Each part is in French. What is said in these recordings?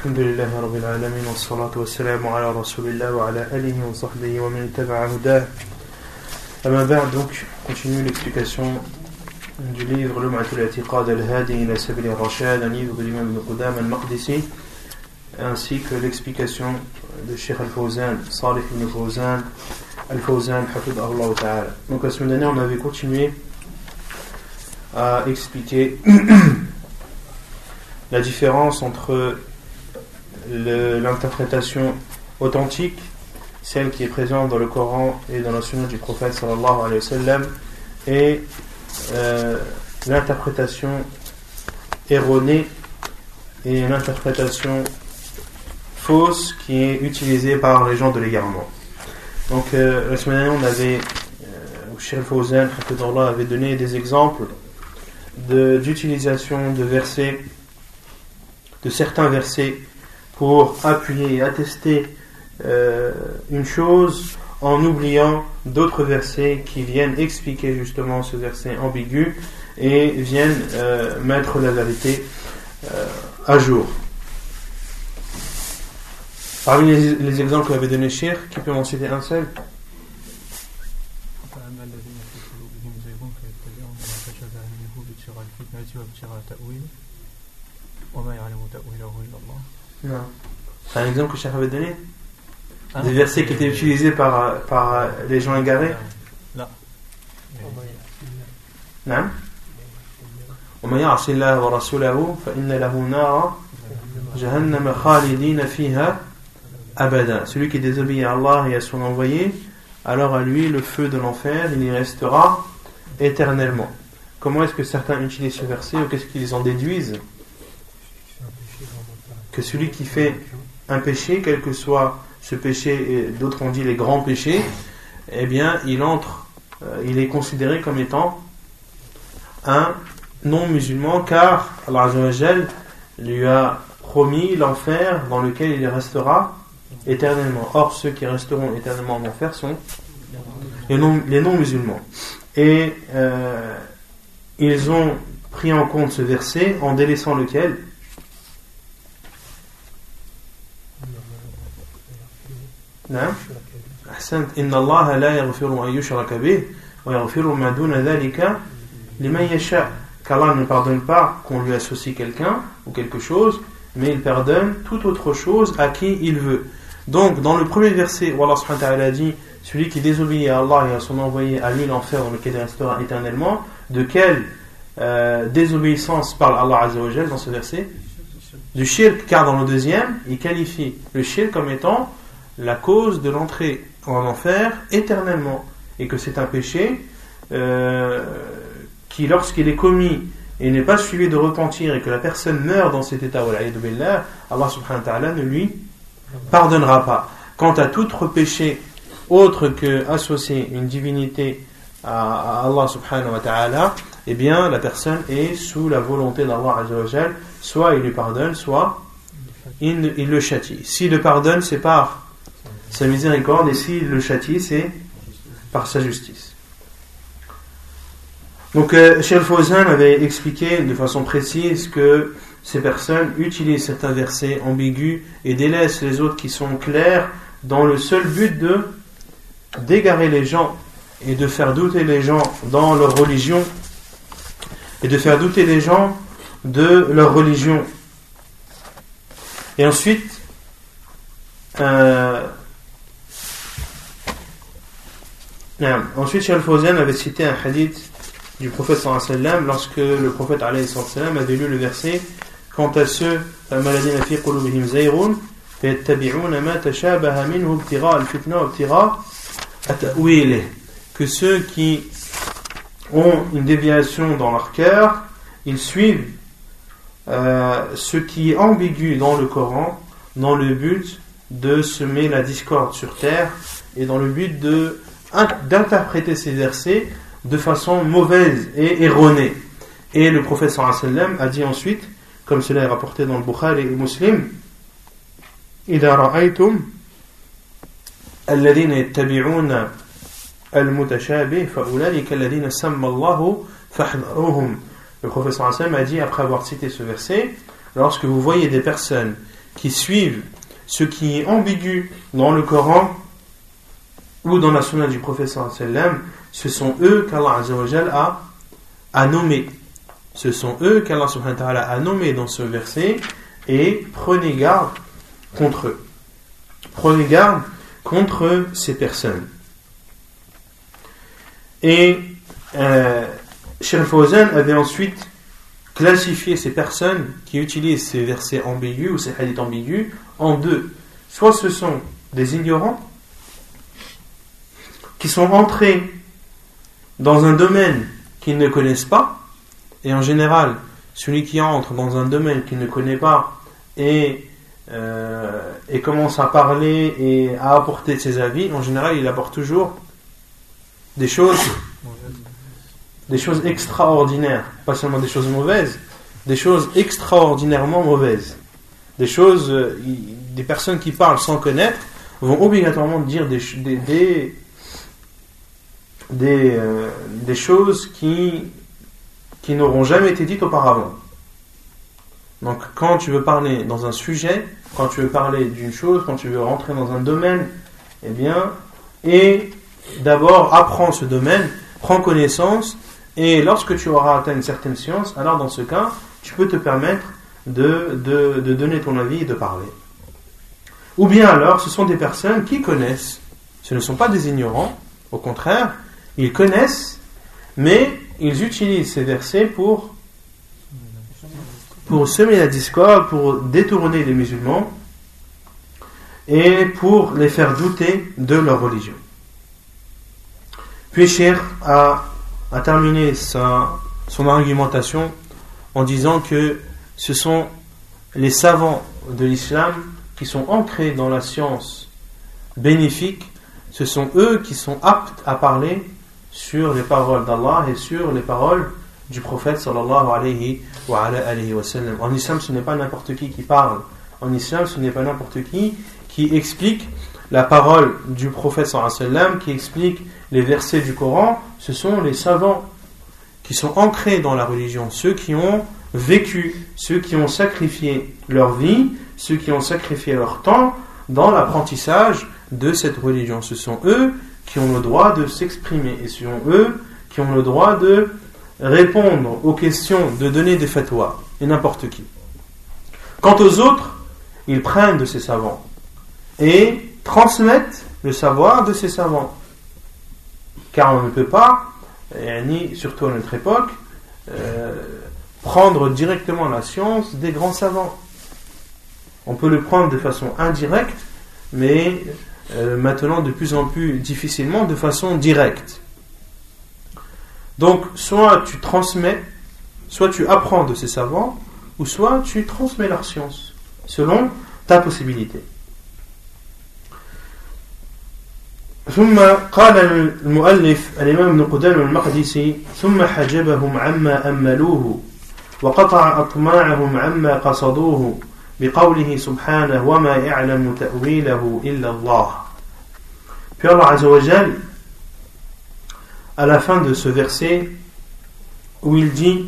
الحمد لله رب العالمين والصلاة والسلام على رسول الله وعلى آله وصحبه ومن اتبع هداه. أما بعد, donc, continue l'explication du livre Lum'atul I'tiqad al-Hadi ila Sabil al-Rashad, un livre de l'imam Ibn Qudam al-Maqdisi, ainsi que l'explication de Cheikh al-Fawzan, Salih ibn Fawzan, al-Fawzan, hafidhahullah ta'ala. Donc la semaine dernière, on avait continué à expliquer la différence entre l'interprétation authentique, celle qui est présente dans le Coran et dans la sunna du prophète sallallahu alayhi wa sallam, et l'interprétation erronée et l'interprétation fausse qui est utilisée par les gens de l'égarement. Donc la semaine dernière, on avait Cheikh al-Fawzan avait donné des exemples d'utilisation de versets, de certains versets, pour appuyer et attester une chose en oubliant d'autres versets qui viennent expliquer justement ce verset ambigu et viennent mettre la vérité à jour. Parmi les exemples qu'avait donné Cheikh, qui peut m'en citer un seul? Non. C'est un exemple que Cheikh avait donné? Des versets qui étaient utilisés par les gens égarés? Non. وَمَا يَعْصِ اللَّهَ وَرَسُولَهُ فَإِنَّ لَهُ نَارًا جَهَنَّمَ خَالِدِينَ فِيهَا أَبَدًا. Celui qui désobéit à Allah et à son envoyé, alors à lui le feu de l'enfer, il y restera éternellement. Comment est-ce que certains utilisent ce verset, ou qu'est-ce qu'ils en déduisent? Que celui qui fait un péché, quel que soit ce péché, et d'autres ont dit les grands péchés, eh bien il est considéré comme étant un non-musulman, car Allah Azza wa Jal lui a promis l'enfer dans lequel il restera éternellement. Or ceux qui resteront éternellement en enfer sont les non-musulmans. Et ils ont pris en compte ce verset en délaissant lequel? Inna Allah la yaghfiru an yushraka bih wa yaghfiru ma duna dhalika liman yasha. Qu'Allah ne pardonne pas qu'on lui associe quelqu'un ou quelque chose, mais il pardonne toute autre chose à qui il veut. Donc dans le premier verset où Allah subhanahu wa ta'ala dit celui qui désobéit à Allah et à son envoyé, à lui l'enfer dans lequel il restera éternellement, de quelle désobéissance parle Allah Azza wa Jal dans ce verset? Du shirk, car dans le deuxième il qualifie le shirk comme étant la cause de l'entrée en enfer éternellement, et que c'est un péché qui, lorsqu'il est commis et n'est pas suivi de repentir, et que la personne meurt dans cet état, Allah subhanahu wa ta'ala ne lui pardonnera pas. Quant à tout autre péché autre que associer une divinité à Allah subhanahu wa ta'ala, eh bien la personne est sous la volonté d'Allah azza wa jal, soit il lui pardonne, soit il le châtie. S'il le pardonne, c'est par sa miséricorde, et s'il le châtie, c'est par sa justice. Donc Cheikh al-Fawzan avait expliqué de façon précise que ces personnes utilisent certains versets ambigus et délaissent les autres qui sont clairs dans le seul but d'égarer les gens et de faire douter les gens dans leur religion, et de faire douter les gens de leur religion. Et ensuite Cheikh al-Fawzan avait cité un hadith du prophète sallallahu alayhi wa sallam, lorsque le prophète alayhi wa sallam avait lu le verset: quant à ceux que ceux qui ont une déviation dans leur cœur, ils suivent ce qui est ambigu dans le Coran, dans le but de semer la discorde sur terre, et dans le but d'interpréter ces versets de façon mauvaise et erronée. Et le prophète sallallahu alayhi wa sallam a dit ensuite, comme cela est rapporté dans le Bukhari et Muslim: إذا رأيتم الذين يتبعون المتشابه فأولئك الذين سمى الله فاحذروهم. Le prophète sallallahu alayhi wa sallam a dit, après avoir cité ce verset: lorsque vous voyez des personnes qui suivent ce qui est ambigu dans le Coran ou dans la sunna du prophète sallallahu alayhi wa sallam, ce sont eux qu'Allah azza wa jalla a nommés. Ce sont eux qu'Allah subhanahu wa ta'ala a nommés dans ce verset, et prenez garde contre eux. Prenez garde contre ces personnes. Et Cheikh Fawzan avait ensuite classifié ces personnes qui utilisent ces versets ambigus ou ces hadiths ambigus en deux. Soit ce sont des ignorants qui sont entrés dans un domaine qu'ils ne connaissent pas, et en général, celui qui entre dans un domaine qu'il ne connaît pas et commence à parler et à apporter ses avis, en général, il apporte toujours des choses extraordinaires, pas seulement des choses mauvaises, des choses extraordinairement mauvaises. Des personnes qui parlent sans connaître vont obligatoirement dire des choses qui n'auront jamais été dites auparavant. Donc quand tu veux parler dans un sujet, quand tu veux parler d'une chose, quand tu veux rentrer dans un domaine, et d'abord apprends ce domaine, prends connaissance, et lorsque tu auras atteint une certaine science, alors dans ce cas, tu peux te permettre de donner ton avis et de parler. Ou bien alors, ce sont des personnes qui connaissent, ce ne sont pas des ignorants, au contraire, ils connaissent, mais ils utilisent ces versets pour semer la discorde, pour détourner les musulmans et pour les faire douter de leur religion. Puis Cheikh a terminé son argumentation en disant que ce sont les savants de l'islam qui sont ancrés dans la science bénéfique, ce sont eux qui sont aptes à parler sur les paroles d'Allah et sur les paroles du prophète sallallahu alayhi wa sallam. En islam, ce n'est pas n'importe qui parle. En islam, ce n'est pas n'importe qui explique la parole du prophète sallallahu alayhi wa sallam, qui explique les versets du Coran. Ce sont les savants qui sont ancrés dans la religion, ceux qui ont vécu, ceux qui ont sacrifié leur vie, ceux qui ont sacrifié leur temps dans l'apprentissage de cette religion. Ce sont eux qui ont le droit de s'exprimer, et ce sont eux qui ont le droit de répondre aux questions, de donner des fatwas, et n'importe qui. Quant aux autres, ils prennent de ces savants et transmettent le savoir de ces savants, car on ne peut pas, surtout à notre époque, prendre directement la science des grands savants. On peut le prendre de façon indirecte, mais maintenant de plus en plus difficilement de façon directe. Donc soit tu transmets, soit tu apprends de ces savants, ou soit tu transmets leur science selon ta possibilité. ثم قال المؤلف الإمام ابن قدامة المقدسي ثم حجبهم عما أملوه وقطع أطماعهم عما قصدوه بقوله سبحانه وما يعلم تأويله إلا الله. Puis Allah Azza wa Jal, à la fin de ce verset où il dit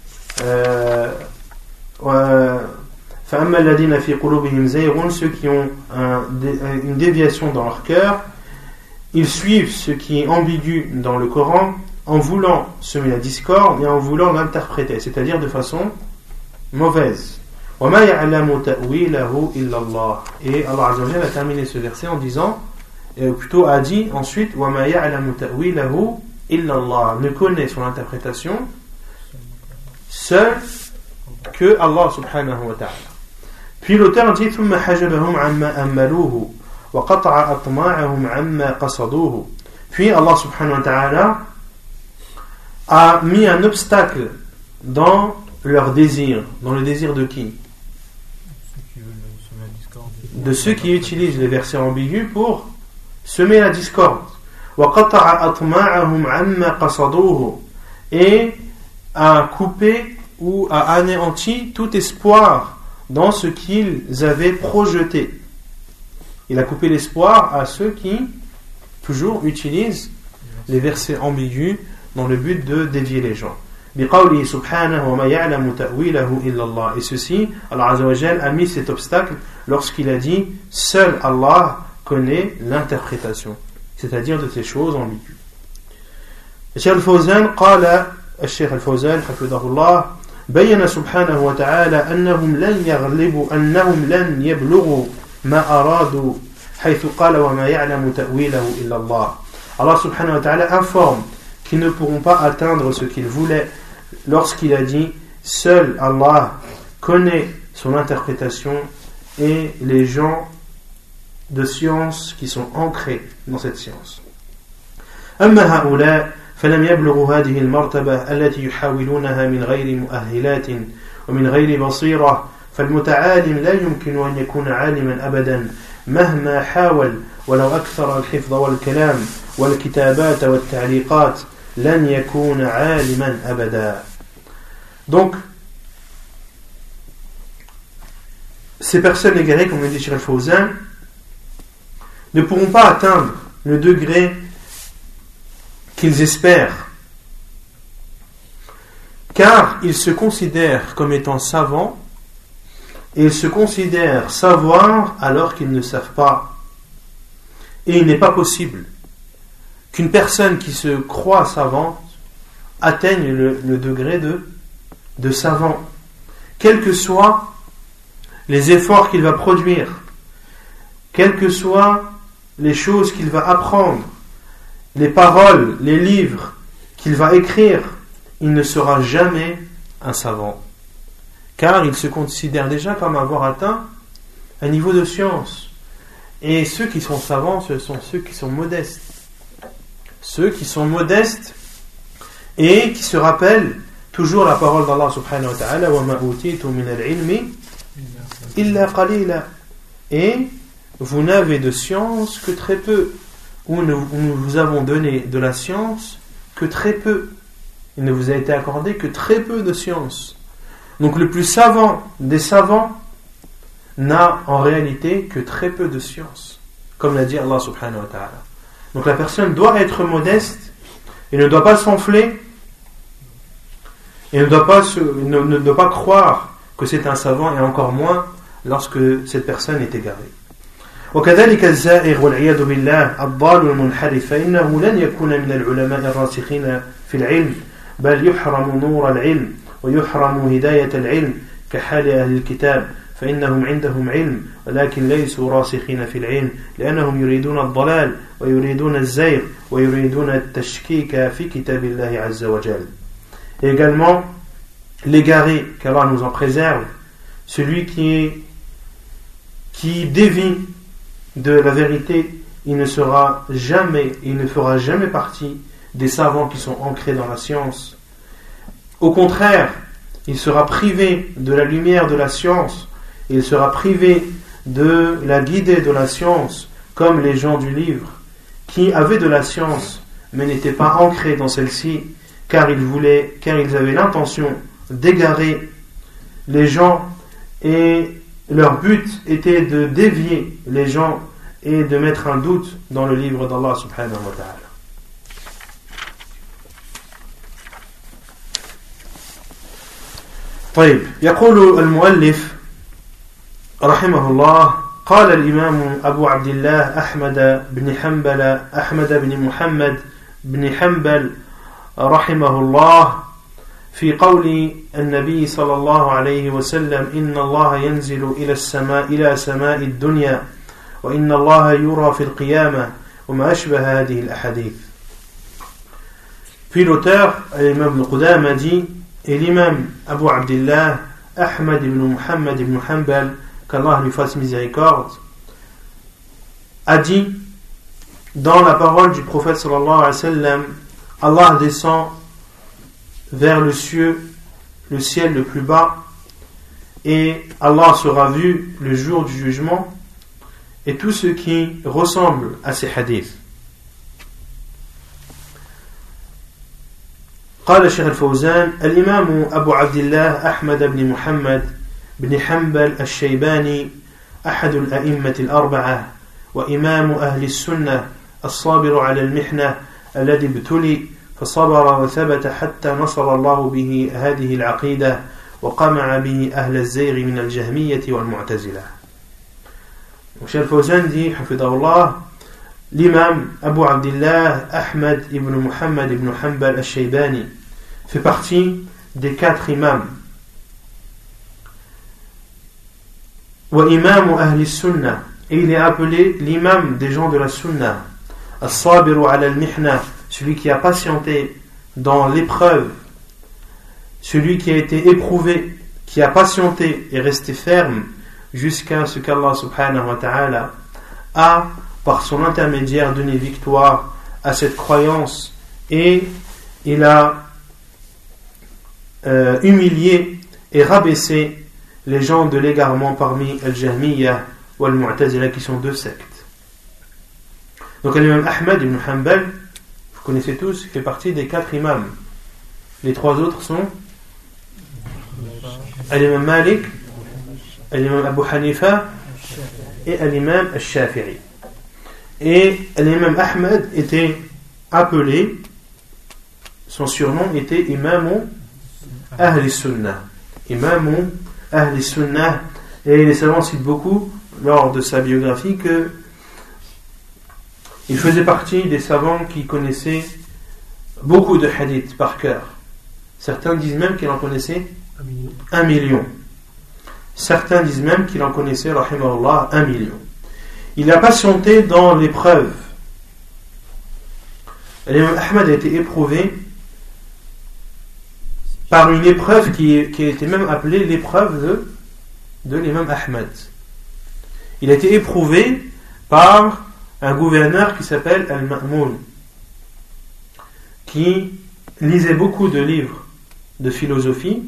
فأما الذين في قلوبهم زيغ, ceux qui ont une déviation dans leur cœur, ils suivent ce qui est ambigu dans le Coran en voulant semer la discorde et en voulant l'interpréter, c'est-à-dire de façon mauvaise. وَمَا يَعْلَمُ تَأْوِيلَهُ إِلَّا اللَّهُ. Et Allah Azza wa Jalla a terminé ce verset en disant, plutôt a dit ensuite وَمَا يَعْلَمُ تَأْوِيلَهُ إِلَّا اللَّهُ, ne connaît son interprétation seul que Allah subhanahu wa ta'ala. Puis l'auteur dit ثُمَّ حَجَبَهُمْ عَمَّا أَمَّلُوهُ وَقَطَعَ أَطْمَاعَهُمْ عَمَّا قَصَدُوهُ. Puis Allah subhanahu wa ta'ala a mis un obstacle dans leur désir. Dans le désir de qui? De ceux qui utilisent les versets ambigus pour semer la discorde. وَقَطَعَ أَطْمَاعَهُمْ عَمَّا قَصَدُوهُ, et a coupé ou a anéanti tout espoir dans ce qu'ils avaient projeté. Il a coupé l'espoir à ceux qui toujours utilisent les versets ambigus dans le but de dévier les gens. بقوله سبحانه وما يعلم تأويله إلا الله. Et ceci, Allah Azza wa Jal a mis cet obstacle lorsqu'il a dit seul Allah connaît l'interprétation, c'est-à-dire de ces choses ambiguës. الشيخ الفوزان قال الشيخ الفوزان حفظه الله بين سبحانه وتعالى أنهم لن يبلغوا ما أرادوا حيث قال وما يعلم تأويله إلا الله. Allah subhanahu wa ta'ala informe qu'ils ne pourront pas atteindre ce qu'ils voulaient lorsqu'il a dit seul Allah connaît son interprétation et les gens de science qui sont ancrés dans cette science. أما هؤلاء فلم يبلغوا هذه المرتبة التي يحاولونها من غير مؤهلات ومن غير بصيرة، فالمتعالم لا يمكن أن يكون عالما أبدا مهما حاول ولو أكثر الحفظ والكلام والكتابات والتعليقات لن يكون عالما أبدا. Donc, ces personnes égarées, comme le dit Cheikh Al-Fawzan, ne pourront pas atteindre le degré qu'ils espèrent, car ils se considèrent comme étant savants et ils se considèrent savoir alors qu'ils ne savent pas. Et il n'est pas possible qu'une personne qui se croit savante atteigne le degré de savant, quels que soient les efforts qu'il va produire, quelles que soient les choses qu'il va apprendre, les paroles, les livres qu'il va écrire, il ne sera jamais un savant, car il se considère déjà comme avoir atteint un niveau de science. Et ceux qui sont savants, ce sont ceux qui sont modestes. Ceux qui sont modestes et qui se rappellent toujours la parole d'Allah subhanahu wa ta'ala وَمَا أُوتِيتُ مِنَ الْعِلْمِ إِلَّا قَلِيلًا. Et vous n'avez de science que très peu, ou nous vous avons donné de la science que très peu. Il ne vous a été accordé que très peu de science. Donc le plus savant des savants n'a en réalité que très peu de science, comme l'a dit Allah subhanahu wa ta'ala. Donc la personne doit être modeste et ne doit pas s'enfler et ne doit pas croire que c'est un savant, et encore moins lorsque cette personne est égarée. وكذلك الزائغ والعياذ بالله الضال المنحرف فإنه لن يكون من العلماء الراسخين في العلم بل يحرم نور العلم ويحرم هداية العلم كحال أهل الكتاب فإنهم عندهم علم ولكن ليسوا راسخين في العلم لأنهم يريدون الضلال ويريدون الزيغ ويريدون التشكيك في كتاب الله عز وجل. Et également l'égaré, qu'Allah nous en préserve, celui qui dévie de la vérité, il ne fera jamais partie des savants qui sont ancrés dans la science. Au contraire, il sera privé de la lumière de la science, il sera privé de la guidée de la science, comme les gens du livre, qui avaient de la science, mais n'étaient pas ancrés dans celle-ci, car ils avaient l'intention d'égarer les gens, et leur but était de dévier les gens et de mettre un doute dans le livre d'Allah subhanahu wa ta'ala. طيب، يقول المؤلف رحمه الله قال الإمام أبو عبد الله أحمد بن محمد بن حنبل رحمه الله في قول النبي صلى الله عليه وسلم إن الله ينزل إلى سماء الدنيا وإن الله يرى في القيامة وما أشبه هذه الأحاديث. Puis l'auteur, l'imam Ibn Qudama dit, et l'imam Abu Abdillah Ahmad ibn Muhammad ibn Hanbal, qu'Allah lui fasse miséricorde, a dit, dans la parole du prophète sallallahu alayhi wa sallam, Allah descend vers le ciel le plus bas, et Allah sera vu le jour du jugement, et tout ce qui ressemble à ces hadiths. قال الشيخ الفوزان الإمام أبو عبد الله أحمد بن محمد بن حنبل الشيباني أحد الأئمة الأربعة وإمام أهل السنة الصابر على المحنة الذي ابتلي فصبر وثبت حتى نصر الله به هذه العقيدة وقمع به أهل الزيغ من الجهمية والمعتزلة. Cheikh Al-Fawzan dit, hafidahullah, l'imam Abu Abdillah Ahmad ibn Muhammad ibn Hanbal al-Shaybani fait partie des 4 imams. Wa imam ahli sunnah, et il est appelé l'imam des gens de la sunnah. As-sabiru ala al-mihna, celui qui a patienté dans l'épreuve, celui qui a été éprouvé, qui a patienté et resté ferme jusqu'à ce qu'Allah subhanahu wa ta'ala a, par son intermédiaire, donné victoire à cette croyance, et il a humilié et rabaissé les gens de l'égarement parmi Al-Jahmiyya ou Al-Mu'tazila, qui sont 2 sectes. Donc l'imam Ahmad ibn Hanbal, vous connaissez tous, fait partie des 4 imams. Les 3 autres sont l'imam Malik, l'imam Abu Hanifa et l'imam Al-Shafi'i. Et l'imam Ahmad était appelé, son surnom était Imam Ahli Sunnah. Imam Ahli Sunnah. Et les savants citent beaucoup lors de sa biographie que il faisait partie des savants qui connaissaient beaucoup de hadiths par cœur. Certains disent même qu'il en connaissait 1 million. Certains disent même qu'il en connaissait, rahimahullah, 1 million. Il a patienté dans l'épreuve. L'imam Ahmad a été éprouvé par une épreuve qui a été même appelée l'épreuve de l'imam Ahmad. Il a été éprouvé par un gouverneur qui s'appelle Al-Ma'moun, qui lisait beaucoup de livres de philosophie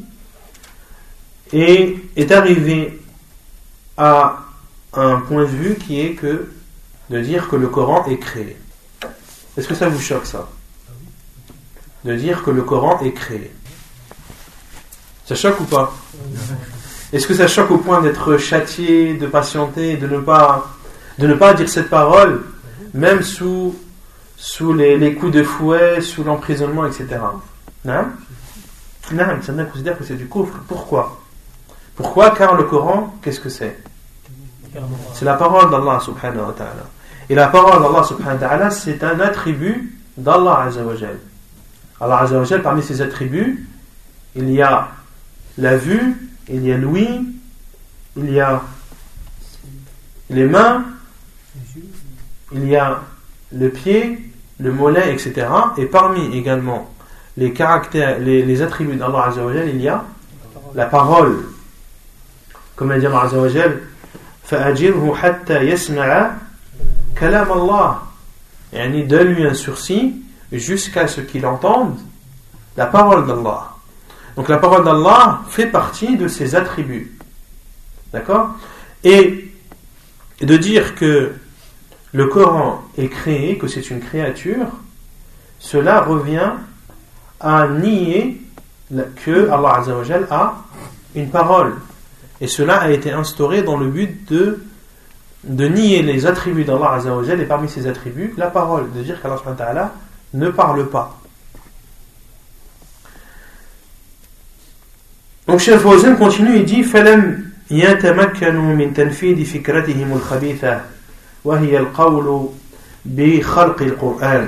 et est arrivé à un point de vue qui est de dire que le Coran est créé. Est-ce que ça vous choque, ça? De dire que le Coran est créé. Ça choque ou pas? Est-ce que ça choque au point d'être châtié, de patienter, de ne pas dire cette parole, même sous les coups de fouet, sous l'emprisonnement, etc. Non, certains considèrent que c'est du kufr. Pourquoi? Car le Coran, qu'est-ce que c'est? C'est la parole d'Allah subhanahu wa ta'ala. Et la parole d'Allah subhanahu wa ta'ala, c'est un attribut d'Allah azza wa jal. Allah azza wa jal, parmi ses attributs, il y a la vue, il y a l'ouïe, il y a les mains, il y a le pied, le mollet, etc. Et parmi également les caractères, les attributs d'Allah azza wa jal, il y a la parole. Comme l'a dit Allah azza wa jal, فَأَجِرْهُ حَتَّى يَسْمَعَ كَلَامَ اللَّهِ, يعني donne-lui un sursis jusqu'à ce qu'il entende la parole d'Allah. Donc la parole d'Allah fait partie de ses attributs. D'accord? Et de dire que le Coran est créé, que c'est une créature, cela revient à nier que Allah Azza wa Jal a une parole. Et cela a été instauré dans le but de nier les attributs d'Allah Azza wa Jal, et parmi ces attributs, la parole, de dire qu'Allah subhanahu wa ta'ala ne parle pas. Donc Cheikh Al-Fawzan continue et dit فَلَمْ يَتَمَكَّنُوا مِنْ تَنْفِيذِ فِكْرَتِهِمُ الْخَبِيثَةِ وهي القول بخلق القرآن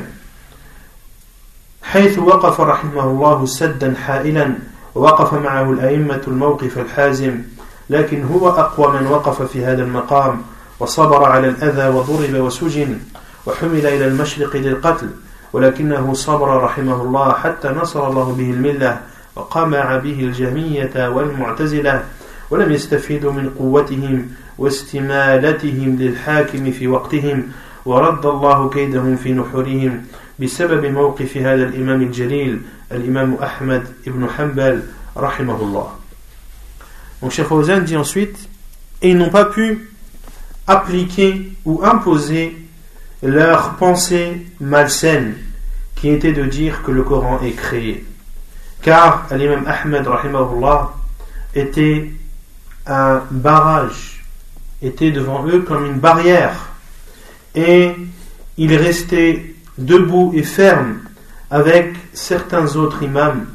حيث وقف رحمه الله سدا حائلا ووقف معه الأئمة الموقف الحازم لكن هو أقوى من وقف في هذا المقام وصبر على الأذى وضرب وسجن وحمل إلى المشرق للقتل ولكنه صبر رحمه الله حتى نصر الله به الملة وقمع به الجهمية والمعتزلة ولم يستفيدوا من قوتهم واستمالتهم للحاكم في وقتهم ورد الله كيدهم في نحورهم بسبب موقف هذا الإمام الجليل الإمام أحمد ibn Hanbal رحمه الله. Donc Cheikh Fawzan dit ensuite, et ils n'ont pas pu appliquer ou imposer leur pensée malsaine qui était de dire que le Coran est créé, car l'imam Ahmad rahimahullah était un barrage, était devant eux comme une barrière, et il restait debout et ferme avec certains autres imams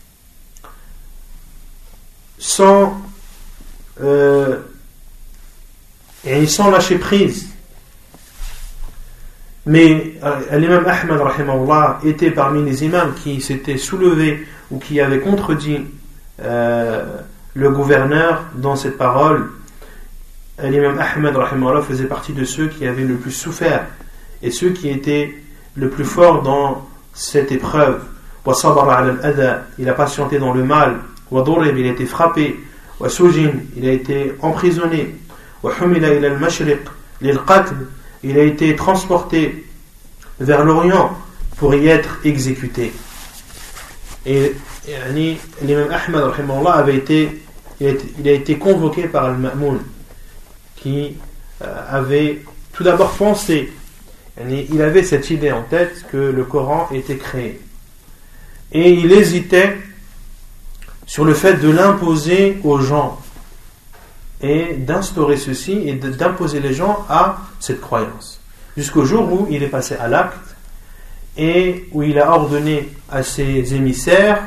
sans lâcher prise. Mais l'imam Ahmad rahimahullah était parmi les imams qui s'étaient soulevés ou qui avaient contredit le gouverneur dans cette parole. L'imam Ahmad rahimahullah faisait partie de ceux qui avaient le plus souffert et ceux qui étaient le plus forts dans cette épreuve. Il a patienté dans le mal, il a été frappé, il a été emprisonné, il a été transporté vers l'Orient pour y être exécuté. Et l'imam Ahmad rahimahullah il a été convoqué par Al-Ma'moun, qui avait tout d'abord pensé, il avait cette idée en tête que le Coran était créé. Et il hésitait sur le fait de l'imposer aux gens et d'instaurer ceci et d'imposer les gens à cette croyance. Jusqu'au jour où il est passé à l'acte et où il a ordonné à ses émissaires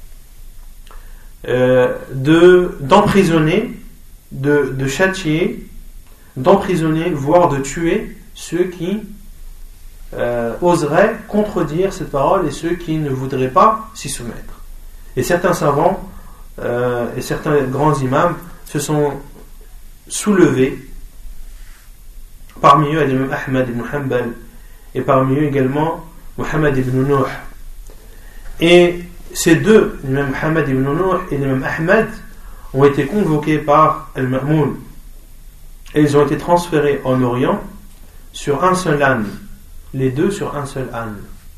d'emprisonner, de châtier, d'emprisonner, voire de tuer ceux qui oseraient contredire cette parole et ceux qui ne voudraient pas s'y soumettre. Et certains savants et certains grands imams se sont soulevés, parmi eux l'imam Ahmad ibn Hanbal et parmi eux également Muhammad ibn Nuh. Et ces deux, l'imam Muhammad ibn Nuh et l'imam Ahmad, ont été convoqués par Al-Ma'moun et ils ont été transférés en Orient sur un seul âne, les deux sur un seul âne.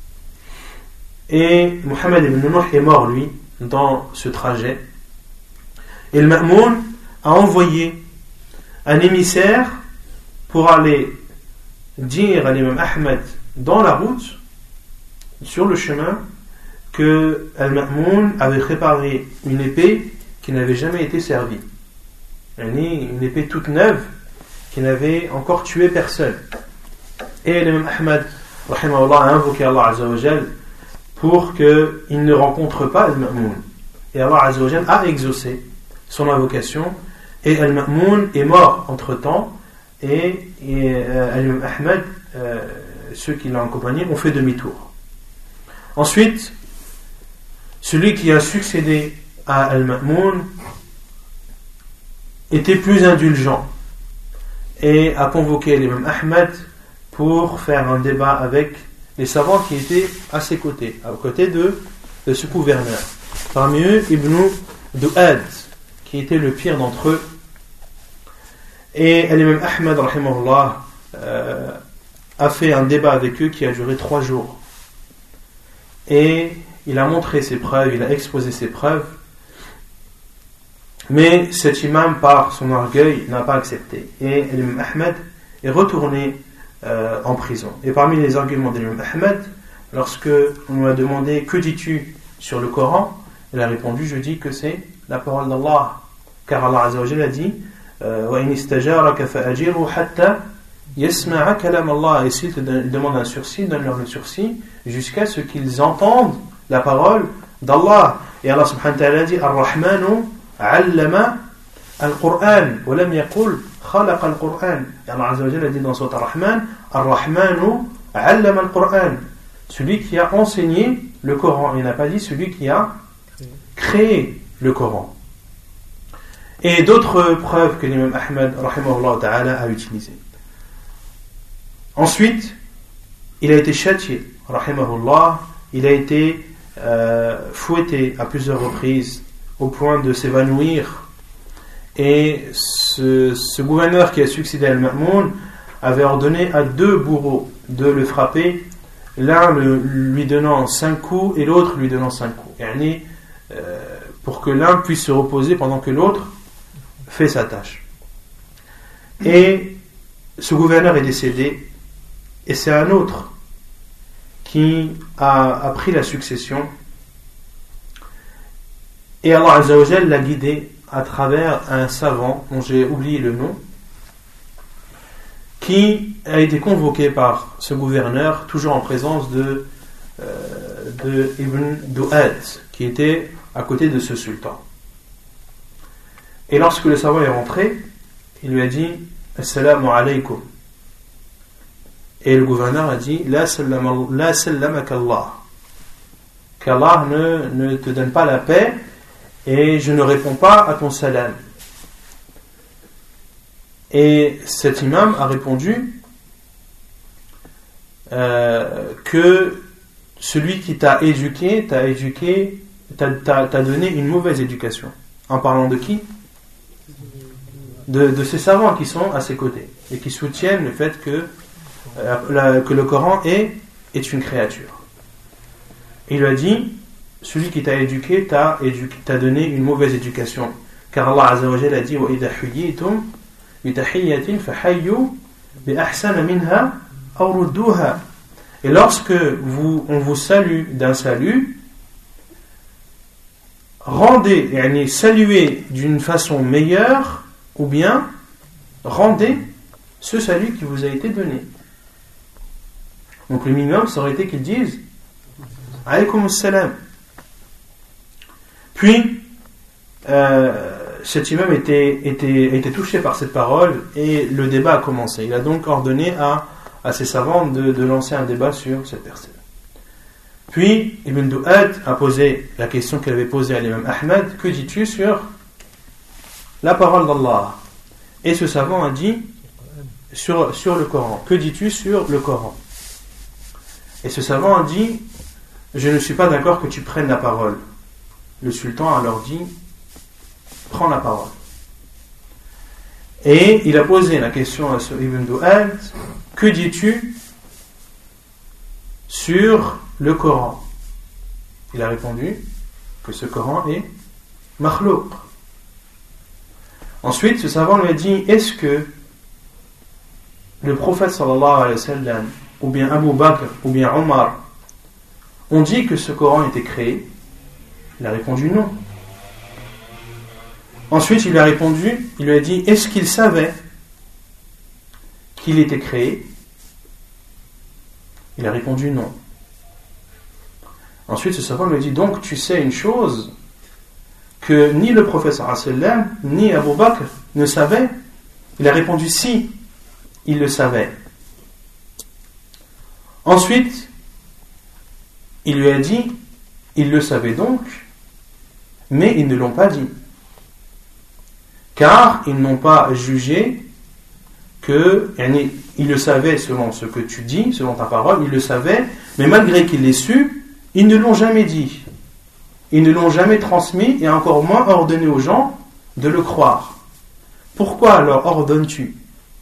Et Muhammad ibn Nuh est mort lui dans ce trajet, et Al-Ma'moun a envoyé un émissaire pour aller dire à l'imam Ahmad dans la route, sur le chemin, que Al-Ma'moun avait préparé une épée qui n'avait jamais été servie, une épée toute neuve qui n'avait encore tué personne. Et l'imam Ahmad rahimahullah a invoqué Allah Azza wa Jal pour qu'il ne rencontre pas Al-Ma'moun, et Allah Azza wa Jal a exaucé son invocation, et Al-Ma'moun est mort entre temps, et l'imam Ahmad, ceux qui l'ont accompagné, ont fait demi-tour. Ensuite, celui qui a succédé à Al-Ma'moun était plus indulgent et a convoqué l'imam Ahmad pour faire un débat avec les savants qui étaient à ses côtés, à côté de ce gouverneur. Parmi eux, Ibn Du'ad, qui était le pire d'entre eux. Et l'imam Ahmad rahimahullah a fait un débat avec eux qui a duré 3 jours. Et il a montré ses preuves, il a exposé ses preuves. Mais cet imam, par son orgueil, n'a pas accepté. Et l'imam Ahmad est retourné en prison. Et parmi les arguments de l'imam Ahmad, lorsque on lui a demandé que dis-tu sur le Coran, il a répondu, je dis que c'est la parole d'Allah, car Allah Azza wa Jalla a dit wa in istajaraka fa'ajirhu hatta yasma'a kalam Allah, et s'ils te demandent un sursis, donne-leur le sursis jusqu'à ce qu'ils entendent la parole d'Allah. Et Allah subhanahu wa ta'ala dit Ar-Rahmanu 'allama al-Qur'an wa lam yaqul khalaqa al-Qur'an. Et Allah Azza wa Jalla dit dans Sourate Ar-Rahman Ar-Rahmanu 'allama al-Qur'an, celui qui a enseigné le Coran. Il n'a pas dit celui qui a créé le Coran. Et d'autres preuves que l'imam Ahmad rahimahullah ta'ala a utilisées. Ensuite, il a été châtié, rahimahullah, il a été fouetté à plusieurs reprises au point de s'évanouir. Et ce gouverneur qui a succédé à Al-Ma'moun avait ordonné à 2 bourreaux de le frapper, l'un lui donnant 5 coups et l'autre lui donnant 5 coups. Pour que l'un puisse se reposer pendant que l'autre fait sa tâche. Et ce gouverneur est décédé, et c'est un autre qui a pris la succession, et Allah Azza wa Jalla l'a guidé à travers un savant dont j'ai oublié le nom, qui a été convoqué par ce gouverneur, toujours en présence de de Ibn Du'ad, qui était à côté de ce sultan. Et lorsque le savant est rentré, il lui a dit Assalamu alaykum. Et le gouverneur a dit La sallamakallah. Qu'Allah ne te donne pas la paix et je ne réponds pas à ton salam. Et cet imam a répondu que celui qui t'a éduqué t'a donné une mauvaise éducation. En parlant de qui? De ces savants qui sont à ses côtés et qui soutiennent le fait que le Coran est une créature. Il lui a dit, celui qui t'a éduqué t'a donné une mauvaise éducation. Car Allah Azza wa Jalla a dit وَإِذَا حُيِّيتُمْ بِتَحِيَّةٍ فَحَيُّوا بِأَحْسَنَ مِنْهَا أَوْ رُدُّوهَا. Et lorsque on vous salue d'un salut, saluez d'une façon meilleure, ou bien rendez ce salut qui vous a été donné. Donc le minimum, ça aurait été qu'ils disent alaykoum salam. Puis cet imam était touché par cette parole et le débat a commencé. Il a donc ordonné à ses savants de lancer un débat sur cette personne. Puis Ibn Du'ad a posé la question qu'il avait posée à l'imam Ahmed: que dis-tu sur la parole d'Allah? Et ce savant a dit sur le Coran. Que dis-tu sur le Coran? Et ce savant a dit: je ne suis pas d'accord que tu prennes la parole. Le sultan a alors dit: prends la parole. Et il a posé la question à Ibn Du'ad: que dis-tu sur le Coran? Il a répondu que ce Coran est makhlouq. Ensuite, ce savant lui a dit: est-ce que le prophète sallallahu alayhi wa sallam, ou bien Abu Bakr, ou bien Omar, ont dit que ce Coran était créé? Il a répondu non. Ensuite, il lui a dit: est-ce qu'il savait qu'il était créé? Il a répondu non. Ensuite, ce savant lui a dit: donc tu sais une chose que ni le prophète sallallahu alayhi wa sallam, ni Abu Bakr ne savaient? Il a répondu: si, il le savait. Ensuite, il lui a dit: ils le savaient donc, mais ils ne l'ont pas dit. Car ils n'ont pas jugé que, ils le savaient selon ce que tu dis, selon ta parole, ils le savaient, mais malgré qu'ils l'aient su, ils ne l'ont jamais dit. Ils ne l'ont jamais transmis et encore moins ordonné aux gens de le croire. Pourquoi alors ordonnes-tu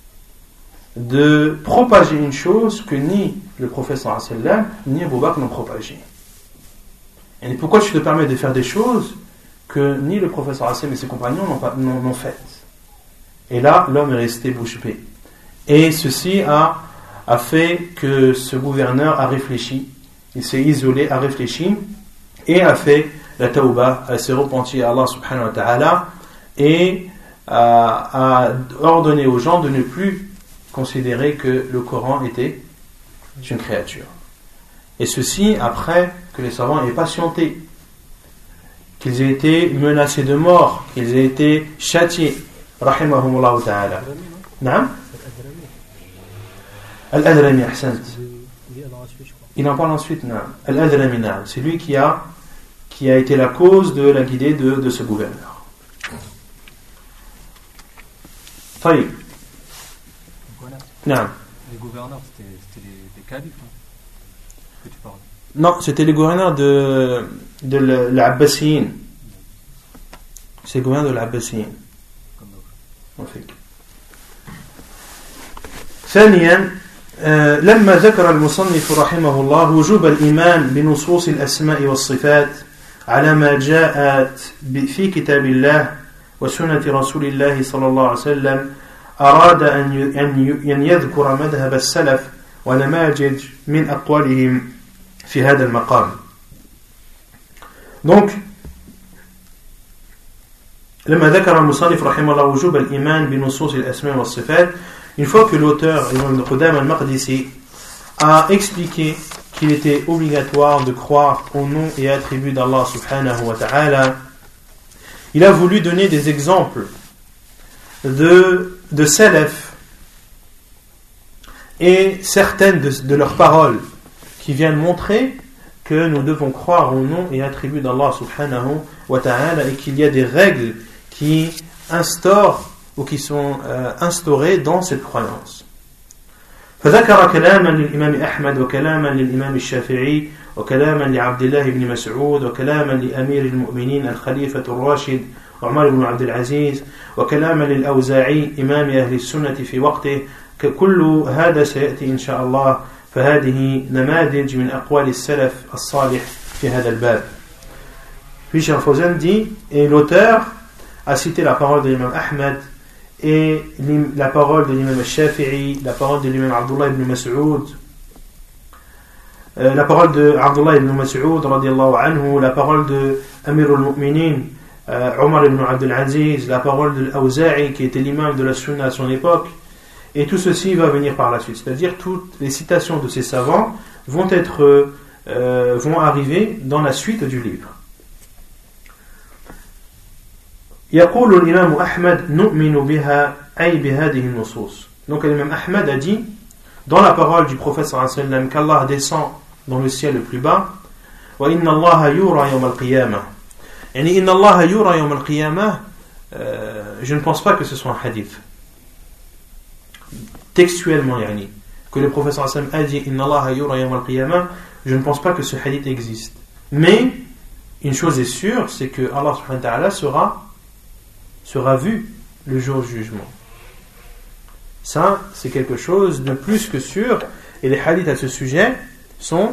de propager une chose que ni le prophète sallallahu alayhi wa sallam ni Abu Bakr n'ont propagée? Et pourquoi tu te permets de faire des choses que ni le prophète sallallahu alayhi wa sallam et ses compagnons n'ont faites? Et là, l'homme est resté bouche bée. Et ceci a fait que ce gouverneur a réfléchi, il s'est isolé, a réfléchi et a fait la tawbah, s'est repenti à Allah subhanahu wa ta'ala et a ordonné aux gens de ne plus considérer que le Coran était une créature. Et ceci après que les savants aient patienté, qu'ils aient été menacés de mort, qu'ils aient été châtiés. Rahimahumullah ta'ala. Naam? Al-Adrami, ahsant. Il en parle ensuite, naam. Al-Adrami, naam. C'est lui qui a été la cause de la guidée de ce gouverneur. Taïb. Naam. Les gouverneurs, c'était des califes, non? Que tu parles? Non, c'était les gouverneurs de l'Abbasiyin. C'est le gouverneur de l'Abbasiyin. ثانيا لما ذكر المصنف رحمه الله وجوب الإيمان بنصوص الأسماء والصفات على ما جاءت في كتاب الله وسنة رسول الله صلى الله عليه وسلم أراد أن يذكر مذهب السلف ونماذج من أقوالهم في هذا المقام. Donc لما ذكر المصنف رحمه الله وجوب الإيمان بنصوص الأسماء والصفات, une fois que l'auteur Ibn Qudama al-Maqdisi a expliqué qu'il était obligatoire de croire au nom et attributs d'Allah subhanahu wa ta'ala, il a voulu donner des exemples de salaf et certaines de leurs paroles qui viennent montrer que nous devons croire au nom et attributs d'Allah subhanahu wa ta'ala et qu'il y a des règles qui instaurent ou qui sont instaurées dans cette croyance. فذكر كلاما للإمام أحمد وكلاما للإمام الشافعي وكلاما لعبد الله بن مسعود وكلاما لأمير المؤمنين الخليفة الراشد عمر بن عبد العزيز وكلاما للأوزاعي إمام أهل السنة في وقته كل هذا سيأتي إن شاء الله فهذه نماذج من أقوال السلف الصالح في هذا الباب. Puis Cheikh Fawzan dit, et l'auteur a cité la parole de l'imam Ahmed et la parole de l'imam al-Shafi'i, la parole de l'imam Abdullah ibn Mas'ud, la parole de Abdullah ibn Mas'ud radiyallahu anhu, la parole de Amir al-Mu'minin Omar ibn Abdul Aziz, la parole de l'Awza'i qui était l'imam de la Sunna à son époque, et tout ceci va venir par la suite, c'est-à-dire toutes les citations de ces savants vont arriver dans la suite du livre. يقول الإمام أحمد نؤمن بها أي بهذه النصوص. Donc l'imam Ahmad a dit dans la parole du prophète sallallahu alayhi wa sallam qu'Allah descend dans le ciel le plus bas وإن الله يرى يوم القيامة. يعني إن الله يرى يوم القيامة, je ne pense pas que ce soit un hadith textuellement, yani, que le prophète sallallahu alayhi wa sallam a dit إن الله يرى يوم القيامة, je ne pense pas que ce hadith existe, mais une chose est sûre, c'est que Allah subhanahu wa ta'ala sera vu le jour du jugement. Ça, c'est quelque chose de plus que sûr, et les hadiths à ce sujet sont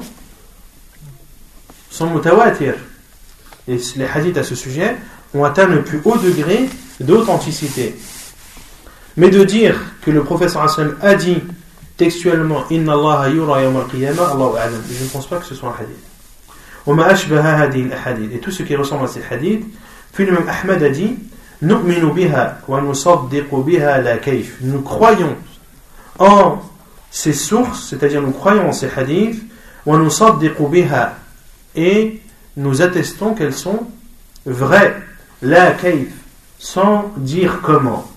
mutawatir. Et les hadiths à ce sujet ont atteint le plus haut degré d'authenticité. Mais de dire que le prophète sallallahu alayhi wa sallam a dit textuellement Inna Allah yura yawm al-qiyamah, Allahu a'lam, je ne pense pas que ce soit un hadith. وما أشبه هذه الأحاديث, et tout ce qui ressemble à ces hadiths. Puis l'imam Ahmad a dit نؤمن بها ونصدق بها لا كيف. Nous croyons en ces sources, c'est-à-dire nous croyons en ces hadiths, ونصدق بها, et nous attestons qu'elles sont vraies, لا كيف, sans dire comment.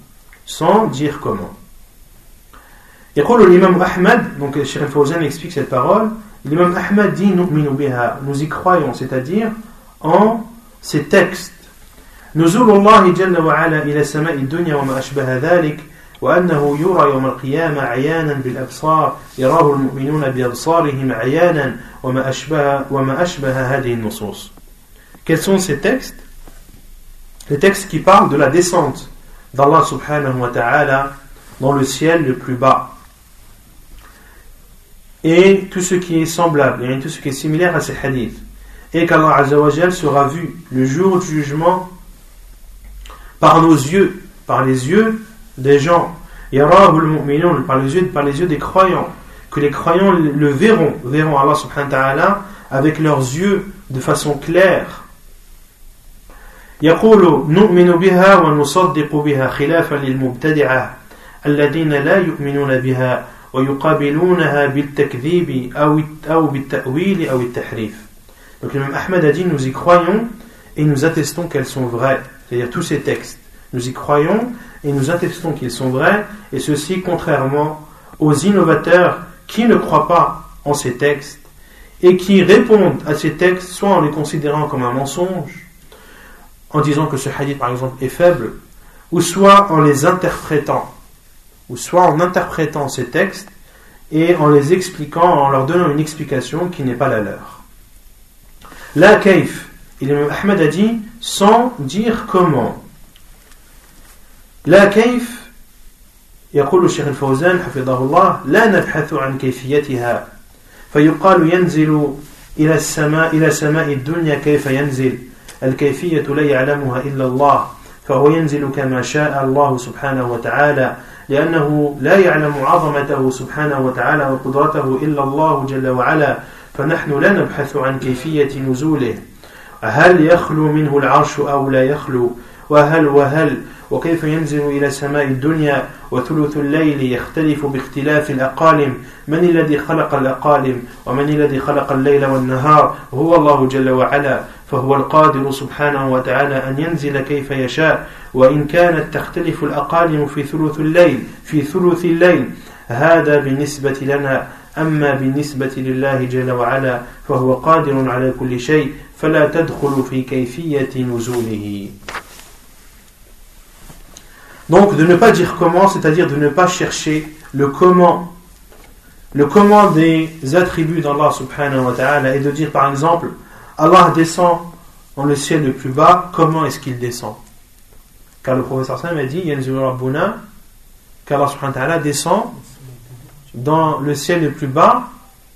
يقول الإمام أحمد, donc Cheikh Al-Fawzan explique cette parole, l'imam Ahmad dit نؤمن بها, nous y croyons, c'est-à-dire en ces textes. نزول الله جل وعلا إلى سماء الدنيا وما أشبه ذلك وأنه يرى يوم القيامة عيانا بالأبصار يراه المؤمنون بأبصارهم عيانا وما أشبه هذه النصوص. Quels sont ces textes? Les textes qui parlent de la descente d'Allah subhanahu wa ta'ala dans le ciel le plus bas, et tout ce qui est semblable, et tout ce qui est similaire à ces hadiths, et qu'Allah azza wa jal sera vu le jour du jugement par nos yeux, par les yeux des gens, yarahul mu'minun, par les yeux des croyants, que les croyants le verront Allah subhanahu wa ta'ala avec leurs yeux de façon claire. يقول نؤمن بها ونصدق بها خلافا للمبتدعة الذين لا يؤمنون بها ويقابلونها بالتكذيب أو بالتأويل أو التحريف. Donc l'imam Ahmad a dit nous y croyons et nous attestons qu'elles sont vraies, c'est-à-dire tous ces textes. Nous y croyons et nous attestons qu'ils sont vrais, et ceci contrairement aux innovateurs qui ne croient pas en ces textes et qui répondent à ces textes soit en les considérant comme un mensonge, en disant que ce hadith par exemple est faible, ou soit en les interprétant, ces textes et en les expliquant, en leur donnant une explication qui n'est pas la leur. La kaif, l'imam Ahmad a dit sans dire comment. La kaif, يقول الشيخ الفوزان حفظه الله لا نبحث عن كيفيتها فيقال ينزل إلى سماء الدنيا كيف ينزل الكيفية لا يعلمها إلا الله فهو ينزل كما شاء الله سبحانه وتعالى لأنه لا يعلم عظمته سبحانه وتعالى وقدرته إلا الله جل وعلا فنحن لا نبحث عن كيفية نزوله هل يخلو منه العرش أو لا يخلو وهل وكيف ينزل إلى سماء الدنيا وثلث الليل يختلف باختلاف الأقالم من الذي خلق الأقالم ومن الذي خلق الليل والنهار هو الله جل وعلا فهو القادر سبحانه وتعالى أن ينزل كيف يشاء وإن كانت تختلف الأقالم في ثلث الليل هذا بالنسبة لنا أما بالنسبة لله جل وعلا فهو قادر على كل شيء فلا تدخل في كيفية نزوله. Donc de ne pas dire comment, c'est-à-dire de ne pas chercher le comment des attributs d'Allah subhanahu wa ta'ala et de dire par exemple Allah descend dans le ciel le plus bas, comment est-ce qu'il descend? Car le professeur Sam a dit Yanzilu Rabbuna, qu'Allah subhanahu wa ta'ala descend dans le ciel le plus bas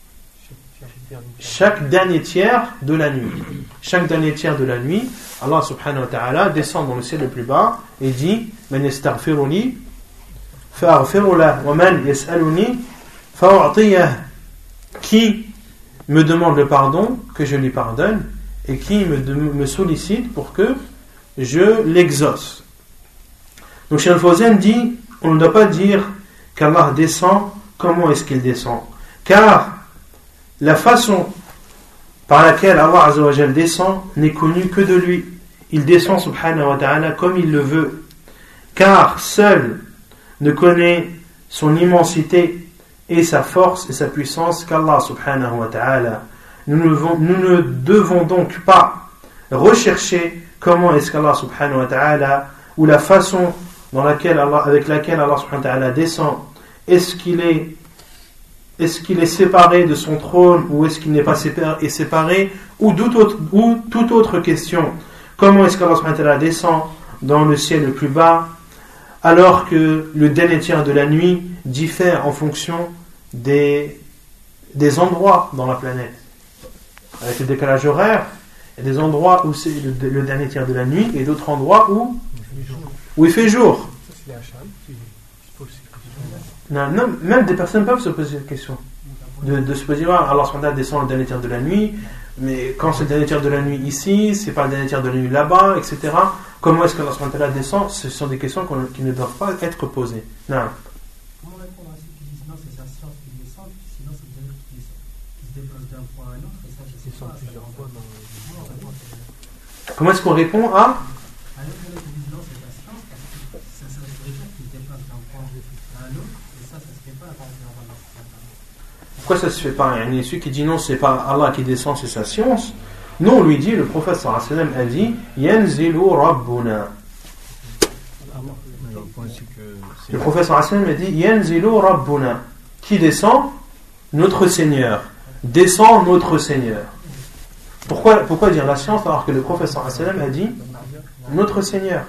chaque dernier tiers de la nuit. Chaque dernier tiers de la nuit, Allah subhanahu wa ta'ala descend dans le ciel le plus bas et dit Man yastaghfiruni fa'aghfiru lahu wa man yas'aluni fa'u'tiyah. Qui me demande le pardon, que je lui pardonne, et qui me sollicite pour que je l'exauce. Donc Cheikh Al-Fawzan dit on ne doit pas dire qu'Allah descend, comment est-ce qu'il descend? Car la façon par laquelle Allah Azza wa Jal descend n'est connue que de lui. Il descend subhanahu wa ta'ala comme il le veut. Car seul ne connaît son immensité et sa force et sa puissance qu'Allah subhanahu wa ta'ala. Nous ne devons donc pas rechercher comment est-ce qu'Allah subhanahu wa ta'ala ou la façon avec laquelle Allah subhanahu wa ta'ala descend. Est-ce qu'il est séparé de son trône ou est-ce qu'il n'est pas séparé ou toute autre question. Comment est-ce qu'Allah subhanahu wa ta'ala descend dans le ciel le plus bas alors que le dernier tiers de la nuit diffère en fonction des endroits dans la planète. Avec le décalage horaire, il y a des endroits où c'est le dernier tiers de la nuit et d'autres endroits où il fait jour. Non, même des personnes peuvent se poser cette question. De se poser, Allah subhanahu wa ta'ala descend le dernier tiers de la nuit, mais quand c'est le dernier tiers de la nuit ici, c'est pas le dernier tiers de la nuit là-bas, etc. Comment est-ce qu'Allah subhanahu wa ta'ala descend? Ce sont des questions qui ne doivent pas être posées. Non. Comment répondre à ceux qui disent non, c'est sa science qui descend, sinon ça veut dire qu'il se déplace d'un point à un autre, et ça, je sais pas. Comment est-ce qu'on répond à pourquoi ça se fait pas? Il y a celui qui dit non, c'est pas Allah qui descend, c'est sa science. Non, on lui dit, le prophète sallallahu alayhi wa sallam a dit Yanzilu Rabbuna. Le prophète sallallahu alayhi wa sallam a dit Yanzilu Rabbuna. Qui descend? Notre Seigneur. Descend notre Seigneur. Pourquoi dire la science alors que le prophète sallallahu alayhi wa sallam a dit notre Seigneur?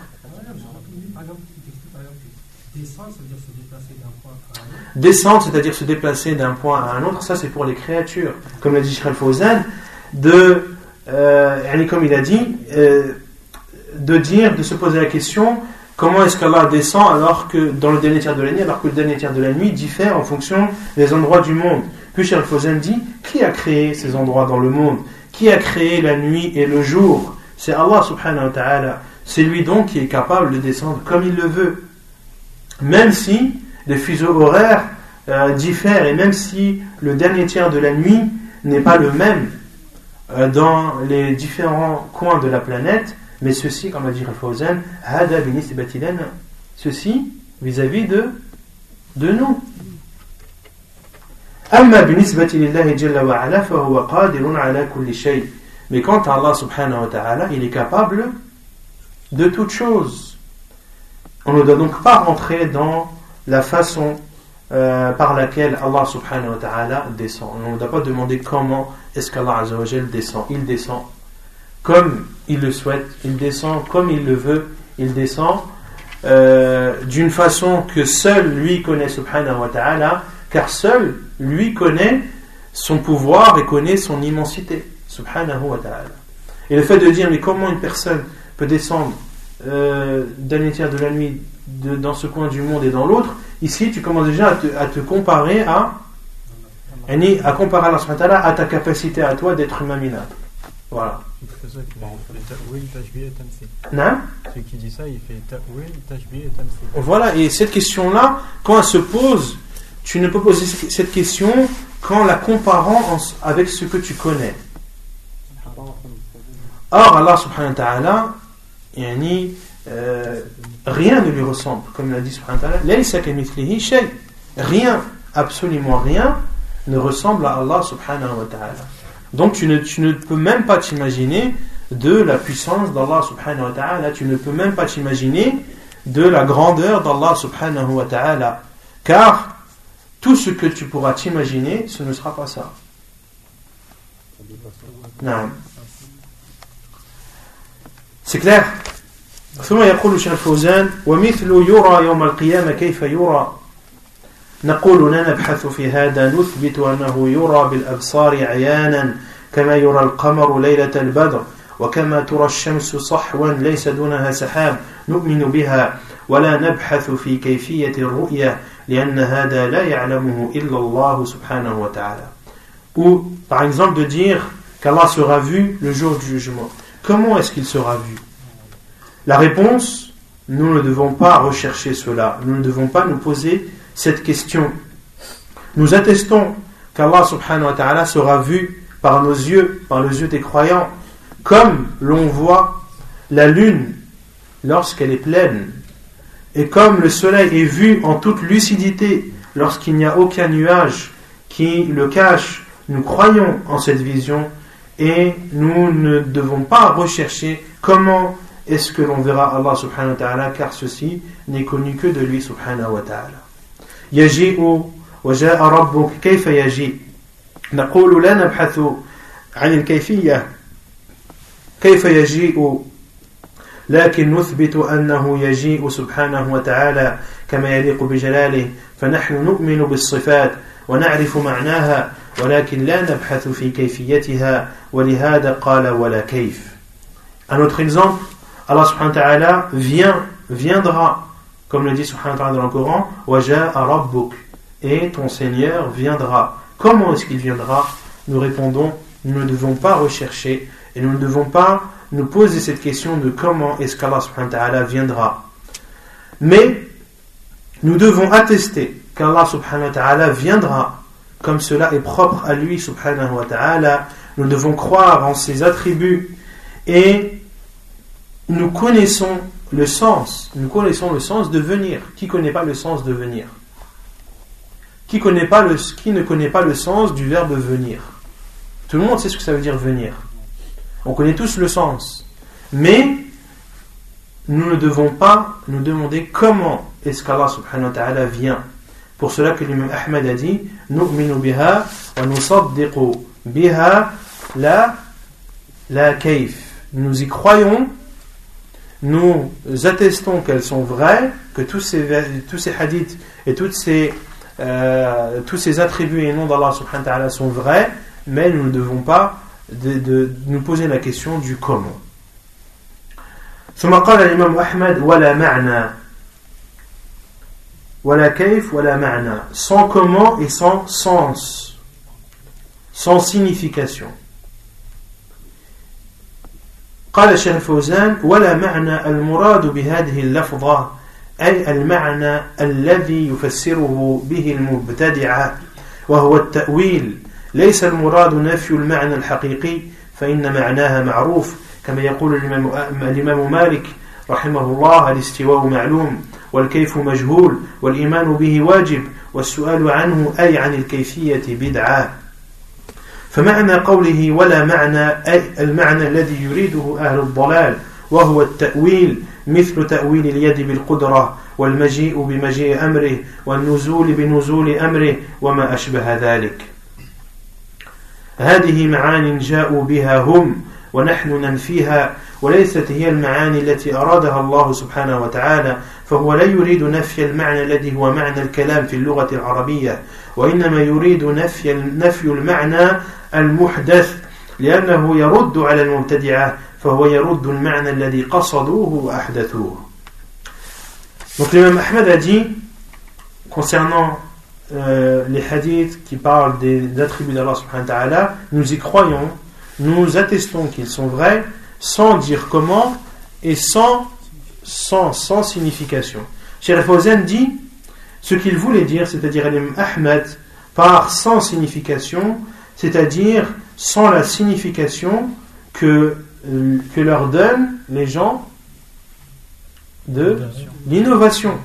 Descendre, c'est-à-dire se déplacer d'un point à un autre, ça c'est pour les créatures. Comme l'a dit Cheikh Al-Fawzan, comme il a dit, de se poser la question, comment est-ce qu'Allah descend alors que dans le dernier tiers de la nuit, alors que le dernier tiers de la nuit diffère en fonction des endroits du monde. Puis Cheikh Al-Fawzan dit, qui a créé ces endroits dans le monde? Qui a créé la nuit et le jour? C'est Allah subhanahu wa ta'ala. C'est lui donc qui est capable de descendre comme il le veut. Même si les fuseaux horaires diffèrent et même si le dernier tiers de la nuit n'est pas le même dans les différents coins de la planète, mais ceci, comme a dit Al-Fawzan, ceci vis-à-vis de nous. Mais quant à Allah subhanahu wa ta'ala, il est capable de toutes choses. On ne doit donc pas rentrer dans la façon par laquelle Allah subhanahu wa ta'ala descend. On ne doit pas demander comment est-ce qu'Allah azza wa jal descend. Il descend comme il le souhaite, il descend comme il le veut, il descend d'une façon que seul lui connaît subhanahu wa ta'ala, car seul lui connaît son pouvoir et connaît son immensité subhanahu wa ta'ala. Et le fait de dire mais comment une personne peut descendre d'un tiers de la nuit dans ce coin du monde et dans l'autre, ici tu commences déjà à te comparer à comparer Allah subhanahu wa ta'ala à ta capacité à toi d'être humain minable. Voilà. Celui qui dit ça, il fait ta'wil, tashbih et tamthil. Voilà, et cette question-là, quand elle se pose, tu ne peux poser cette question qu'en la comparant avec ce que tu connais. Or, Allah subhanahu wa ta'ala, rien ne lui ressemble, comme l'a dit subhanahu wa ta'ala, laysa kamithlihi shay. Rien, absolument rien, ne ressemble à Allah subhanahu wa ta'ala. Donc tu ne peux même pas t'imaginer de la puissance d'Allah subhanahu wa ta'ala, tu ne peux même pas t'imaginer de la grandeur d'Allah subhanahu wa ta'ala, car tout ce que tu pourras t'imaginer, ce ne sera pas ça. Non. C'est clair. ثم يقول الشيخ الفوزان ومثل يرى يوم القيامة كيف يرى نقول نبحث في هذا نثبت أنه يرى بالأبصار عيانا كما يرى القمر ليلة البدر وكما ترى الشمس صحوا ليس دونها سحاب نؤمن بها ولا نبحث في كيفية الرؤية لأن هذا لا يعلمه إلا الله سبحانه وتعالى. Ou par exemple de dire qu'Allah sera vu le jour du jugement. Comment est-ce qu'il sera vu? La réponse, nous ne devons pas rechercher cela, nous ne devons pas nous poser cette question. Nous attestons qu'Allah subhanahu wa ta'ala sera vu par nos yeux, par les yeux des croyants, comme l'on voit la lune lorsqu'elle est pleine, et comme le soleil est vu en toute lucidité lorsqu'il n'y a aucun nuage qui le cache. Nous croyons en cette vision et nous ne devons pas rechercher comment est-ce que l'on verra Allah subhanahu wa ta'ala, car ceci n'est connu que de lui subhanahu wa ta'ala. يجيء وجاء ربك كيف يجيء نقول لا نبحث عن الكيفية كيف يجيء لكن نثبت أنه يجيء سبحانه وتعالى كما يليق بجلاله فنحن نؤمن بالصفات ونعرف معناها ولكن لا نبحث في كيفيتها ولهذا قال ولا كيف. Un autre exemple, Allah subhanahu wa ta'ala viendra, comme le dit subhanahu wa ta'ala dans le Coran, وَجَاءَ رَبُّكَ, et ton Seigneur viendra. Comment est-ce qu'il viendra? Nous répondons, nous ne devons pas rechercher et nous ne devons pas nous poser cette question de comment est-ce qu'Allah subhanahu wa ta'ala viendra. Mais nous devons attester qu'Allah subhanahu wa ta'ala viendra, comme cela est propre à lui subhanahu wa ta'ala. Nous devons croire en ses attributs et nous connaissons le sens de venir. Qui ne connaît pas le sens de venir? Qui ne connaît pas le sens du verbe venir? Tout le monde sait ce que ça veut dire venir. On connaît tous le sens. Mais nous ne devons pas nous demander comment est-ce qu'Allah subhanahu wa ta'ala vient. Pour cela que l'imam Ahmad a dit Nu'minu biha wa nusaddiqu biha la kayf. Nous y croyons, nous attestons qu'elles sont vraies, que tous ces hadiths et tous ces attributs et noms d'Allah subhanahu wa ta'ala sont vrais, mais nous ne devons pas de nous poser la question du comment. ثم قال الإمام أحمد ولا معنى ولا كيف ولا معنى, sans comment et sans sens, sans signification. قال الشيخ الفوزان ولا معنى المراد بهذه اللفظة أي المعنى الذي يفسره به المبتدعة وهو التأويل, ليس المراد نفي المعنى الحقيقي فإن معناها معروف كما يقول الإمام مالك رحمه الله الاستواء معلوم والكيف مجهول والإيمان به واجب والسؤال عنه أي عن الكيفية بدعة. فمعنى قوله ولا معنى أي المعنى الذي يريده أهل الضلال وهو التأويل مثل تأويل اليد بالقدرة والمجيء بمجيء أمره والنزول بنزول أمره وما أشبه ذلك. هذه معاني جاءوا بها هم ونحن ننفيها وليست هي المعاني التي أرادها الله سبحانه وتعالى, فهو لا يريد نفي المعنى الذي هو معنى الكلام في اللغة العربية وإنما يريد نفي المعنى المحدث لأنه يرد على المبتدعة فهو يرد المعنى الذي قصدوه وأحدثوه. Donc l'imam Ahmad a dit concernant les hadiths qui parlent des attributs d'Allah subhanahu wa ta'ala, nous y croyons, nous attestons qu'ils sont vrais sans dire comment et sans signification. Cheikh Al-Fawzan dit ce qu'il voulait dire, c'est-à-dire l'imam Ahmed, par sans signification, c'est-à-dire sans la signification que leur donnent les gens de l'innovation,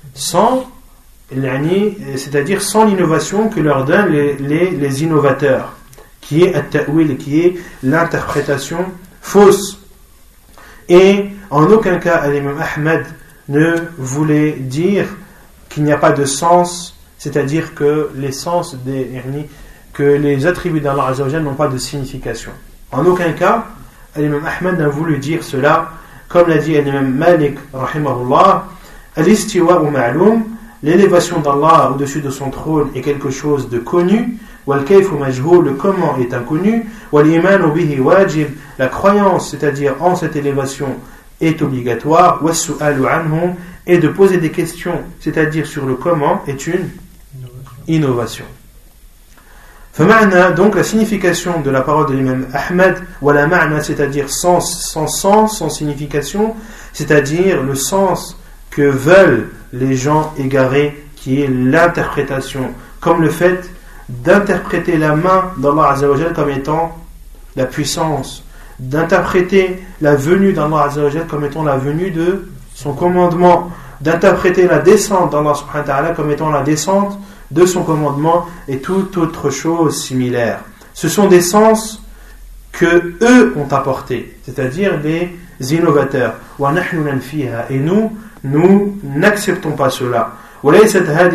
c'est-à-dire sans l'innovation que leur donnent les innovateurs, qui est at-ta'wil, qui est l'interprétation fausse. Et en aucun cas l'imam Ahmed ne voulait dire qu'il n'y a pas de sens, c'est-à-dire que les sens que les attributs d'Allah Azza wa Jalla n'ont pas de signification. En aucun cas l'imam Ahmed n'a voulu dire cela, comme l'a dit l'imam Malik rahimahullah, al-istiwa'u ma'lum, l'élévation d'Allah au-dessus de son trône est quelque chose de connu, wal-kayfu majhul, le comment est inconnu, wal-imanu bihi wajib, la croyance, c'est-à-dire en cette élévation, est obligatoire, was-su'alu anhu, et de poser des questions, c'est-à-dire sur le comment, est une innovation. فمعنى, donc la signification de la parole de l'imam Ahmed, wala ma'na, c'est-à-dire sans sens, sans signification, c'est-à-dire le sens que veulent les gens égarés, qui est l'interprétation, comme le fait d'interpréter la main d'Allah Azza wa Jalla comme étant la puissance, d'interpréter la venue d'Allah Azza wa Jalla comme étant la venue de son commandement, d'interpréter la descente d'Allah subhanahu wa ta'ala comme étant la descente de son commandement et toute autre chose similaire. Ce sont des sens que eux ont apportés, c'est-à-dire des innovateurs. Et nous n'acceptons pas cela. Et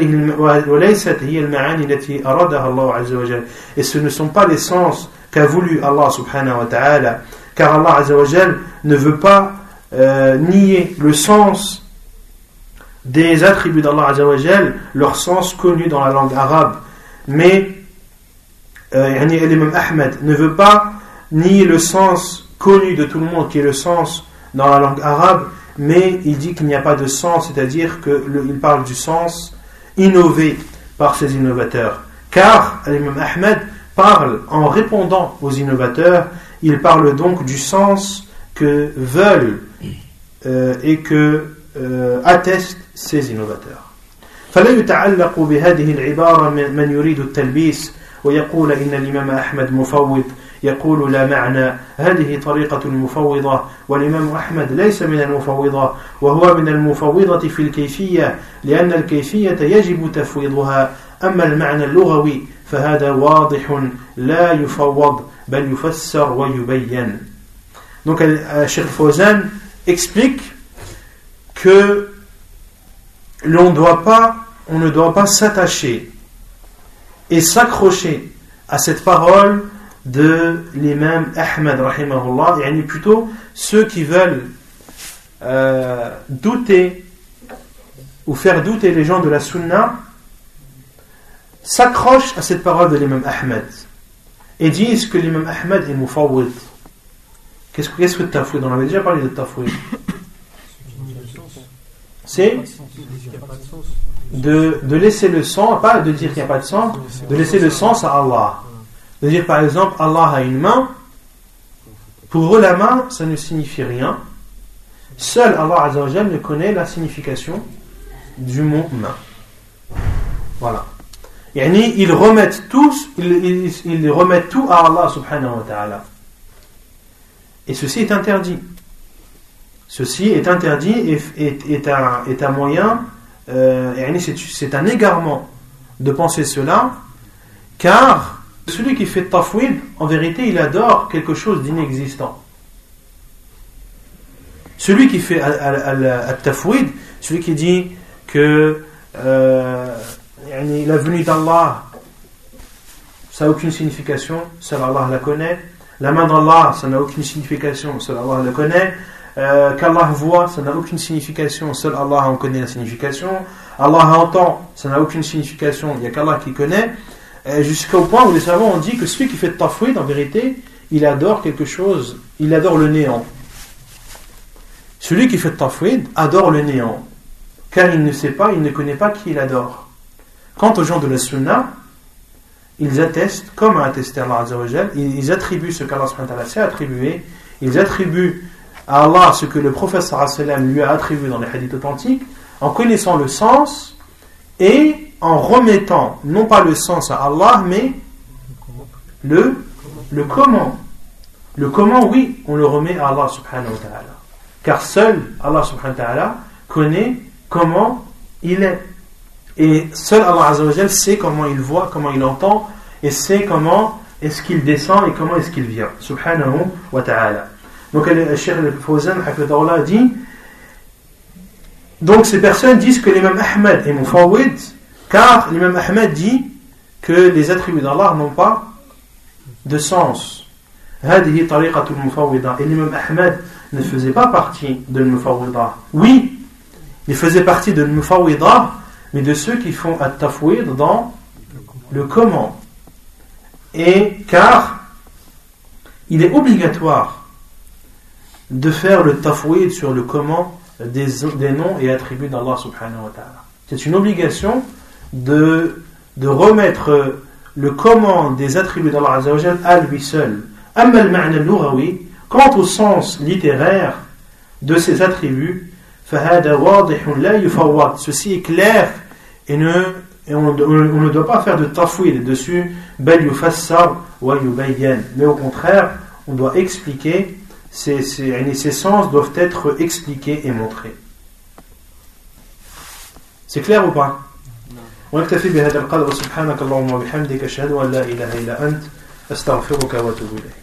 ce ne sont pas les sens qu'a voulu Allah subhanahu wa ta'ala, car Allah Azza wa Jal ne veut pas nier le sens des attributs d'Allah Azza wa Jal, leur sens connu dans la langue arabe. Mais l'imam Ahmed ne veut pas nier le sens connu de tout le monde, qui est le sens dans la langue arabe, mais il dit qu'il n'y a pas de sens, c'est-à-dire qu'il parle du sens innové par ces innovateurs. Car l'imam Ahmed parle en répondant aux innovateurs, il parle donc du sens que veulent et que attestent ces innovateurs. فلا يتعلق بهذه العبارة من يريد التلبيس ويقول إن الإمام أحمد مفوض، يقول لا معنى، هذه طريقة المفوضة، والإمام أحمد ليس من المفوضة، وهو من المفوضة في الكيفية، لأن الكيفية يجب تفويضها، أما المعنى اللغوي فهذا واضح لا يفوض بل يفسر ويبين. Donc Cheikh Fawzan explique que on ne doit pas s'attacher et s'accrocher à cette parole de l'imam Ahmed rahimahullah, et plutôt ceux qui veulent douter ou faire douter les gens de la sunna s'accrochent à cette parole de l'imam Ahmed et disent que l'imam Ahmed est mufawwid. Qu'est-ce que tafwid? On avait déjà parlé de tafwid. C'est de laisser le sens, pas de dire qu'il n'y a pas de sens, de laisser le sens à Allah. De dire par exemple Allah a une main, pour eux la main ça ne signifie rien, seul Allah Azza wa Jalla ne connaît la signification du mot main. Voilà. Ils remettent tout à Allah subhanahu wa ta'ala. Et ceci est interdit. Ceci est interdit et est un moyen, c'est un égarement de penser cela, car celui qui fait tafwid, en vérité, il adore quelque chose d'inexistant. Celui qui fait al-tafwid, celui qui dit que la venue d'Allah, ça n'a aucune signification, seul Allah la connaît. La main d'Allah, ça n'a aucune signification, seul Allah la connaît. Qu'Allah voit, ça n'a aucune signification, seul Allah en connaît la signification. Allah entend, ça n'a aucune signification, il n'y a qu'Allah qui connaît. Jusqu'au point où les savants ont dit que celui qui fait tafwid, en vérité, il adore quelque chose, il adore le néant. Celui qui fait tafwid adore le néant, car il ne sait pas, il ne connaît pas qui il adore. Quant aux gens de la sunna, ils attestent, comme a attesté Allah Azza wa Jal, ils attribuent ce qu'Allah subhanahu wa ta'ala s'est attribué, ils attribuent à Allah ce que le prophète sallallahu alayhi wa sallam lui a attribué dans les hadiths authentiques, en connaissant le sens et en remettant, non pas le sens à Allah, mais le comment. Le comment, oui, on le remet à Allah subhanahu wa ta'ala. Car seul Allah subhanahu wa ta'ala connaît comment il est. Et seul Allah Azza wa Jal sait comment il voit, comment il entend, et sait comment est-ce qu'il descend et comment est-ce qu'il vient. Subhanahu wa ta'ala. Donc le Cheikh Al-Fawzan hafidhahullah dit, donc ces personnes disent que l'imam Ahmad est mufawwid, car l'imam Ahmad dit que les attributs d'Allah n'ont pas de sens. هذه طريقة المفوضة. Et l'imam Ahmad ne faisait pas partie de l'mufawwida. Oui, il faisait partie de l'mufawwida, mais de ceux qui font at-tafwid dans le comment. Et car il est obligatoire de faire le tafwid sur le comment des noms et attributs d'Allah subhanahu wa ta'ala. C'est une obligation de remettre le comment des attributs d'Allah Azza wa Jal à lui seul. Amma al-ma'na al-lughawi, quant au sens littéraire de ces attributs, fahada wadihun la yufawwad, ceci est clair et on ne doit pas faire de tafwid dessus, bal yufassar wa yubayyan, mais au contraire on doit expliquer, ces sens doivent être expliqués et montrés. C'est clair ou pas? ونكتفي بهذا القدر. سبحانك اللهم وبحمدك أشهد أن لا إله إلا أنت أستغفرك وأتوب إليك.